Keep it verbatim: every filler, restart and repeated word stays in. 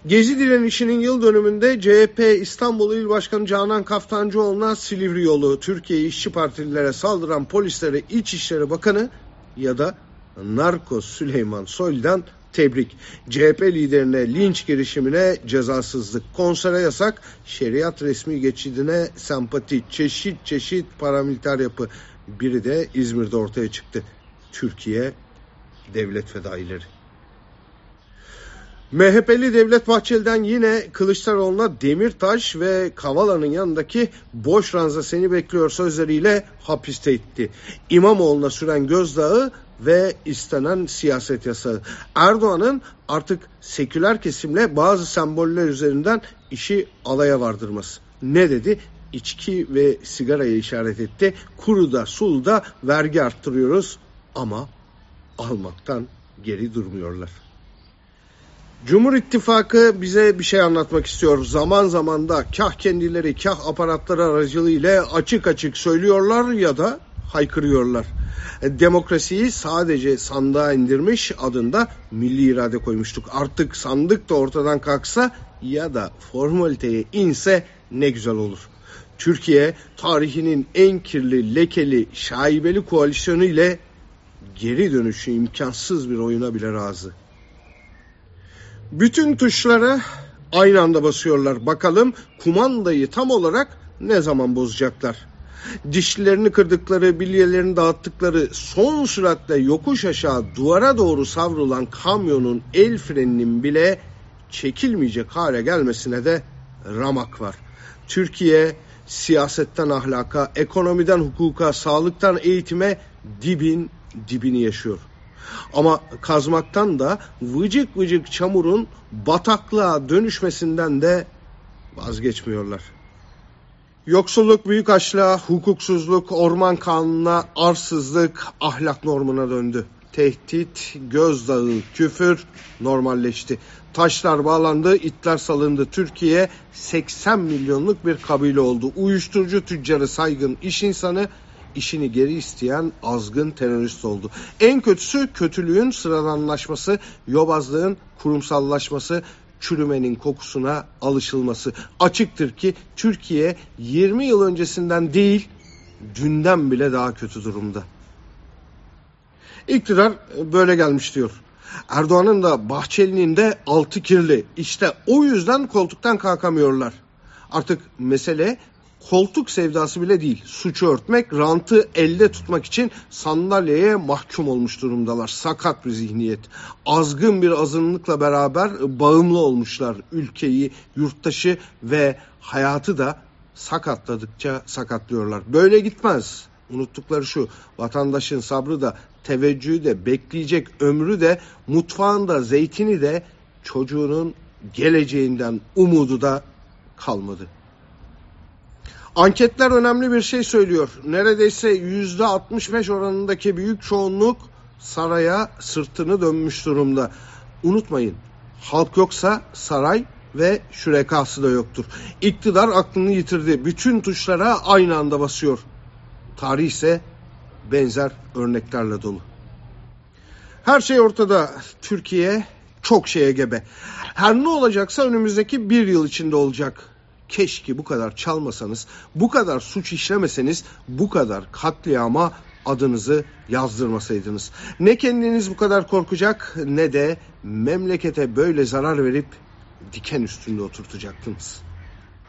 Gezi direnişinin yıl dönümünde C H P İstanbul İl Başkanı Canan Kaftancıoğlu'na Silivri yolu, Türkiye İşçi Partililere saldıran polislere İçişleri Bakanı ya da Narkos Süleyman Soylu'dan tebrik. C H P liderine linç girişimine cezasızlık, konsere yasak, şeriat resmi geçidine sempati, çeşit çeşit paramiliter yapı. Biri de İzmir'de ortaya çıktı. Türkiye devlet fedaileri. M H P'li Devlet Bahçeli'den yine Kılıçdaroğlu'na Demirtaş ve Kavala'nın yanındaki boş ranza seni bekliyor sözleriyle hapiste itti. İmamoğlu'na süren gözdağı ve istenen siyaset yasağı. Erdoğan'ın artık seküler kesimle bazı semboller üzerinden işi alaya vardırması. Ne dedi? İçki ve sigaraya işaret etti. Kuruda suluda vergi arttırıyoruz ama almaktan geri durmuyorlar. Cumhur İttifakı bize bir şey anlatmak istiyor. Zaman zaman da kah kendileri kah aparatları aracılığıyla açık açık söylüyorlar ya da haykırıyorlar. Demokrasiyi sadece sandığa indirmiş, adında milli irade koymuştuk. Artık sandık da ortadan kalksa ya da formaliteye inse ne güzel olur. Türkiye tarihinin en kirli, lekeli, şaibeli koalisyonu ile geri dönüşü imkansız bir oyuna bile razı. Bütün tuşlara aynı anda basıyorlar. Bakalım kumandayı tam olarak ne zaman bozacaklar? Dişlerini kırdıkları, bilyelerini dağıttıkları, son süratle yokuş aşağı duvara doğru savrulan kamyonun el freninin bile çekilmeyecek hale gelmesine de ramak var. Türkiye siyasetten ahlaka, ekonomiden hukuka, sağlıktan eğitime dibin dibini yaşıyor. Ama kazmaktan da vıcık vıcık çamurun bataklığa dönüşmesinden de vazgeçmiyorlar. Yoksulluk büyük açlığa, hukuksuzluk orman kanununa, arsızlık ahlak normuna döndü. Tehdit, gözdağı, küfür normalleşti. Taşlar bağlandı, itler salındı. Türkiye seksen milyonluk bir kabile oldu. Uyuşturucu tüccarı saygın iş insanı, işini geri isteyen azgın terörist oldu. En kötüsü kötülüğün sıradanlaşması, yobazlığın kurumsallaşması, çürümenin kokusuna alışılması. Açıktır ki Türkiye yirmi yıl öncesinden değil, dünden bile daha kötü durumda. İktidar böyle gelmiş diyor. Erdoğan'ın da Bahçeli'nin de altı kirli. İşte o yüzden koltuktan kalkamıyorlar. Artık mesele koltuk sevdası bile değil. Suçu örtmek, rantı elde tutmak için sandalyeye mahkum olmuş durumdalar. Sakat bir zihniyet. Azgın bir azınlıkla beraber bağımlı olmuşlar. Ülkeyi, yurttaşı ve hayatı da sakatladıkça sakatlıyorlar. Böyle gitmez. Unuttukları şu: vatandaşın sabrı da, teveccühü de, bekleyecek ömrü de, mutfağında zeytini de, çocuğunun geleceğinden umudu da kalmadı. Anketler önemli bir şey söylüyor. Neredeyse yüzde altmış beş oranındaki büyük çoğunluk saraya sırtını dönmüş durumda. Unutmayın, halk yoksa saray ve şürekası da yoktur. İktidar aklını yitirdi. Bütün tuşlara aynı anda basıyor. Tarih ise benzer örneklerle dolu. Her şey ortada. Türkiye çok şeye gebe. Her ne olacaksa önümüzdeki bir yıl içinde olacak. Keşke bu kadar çalmasanız, bu kadar suç işlemeseniz, bu kadar katliama adınızı yazdırmasaydınız. Ne kendiniz bu kadar korkacak ne de memlekete böyle zarar verip diken üstünde oturtacaktınız.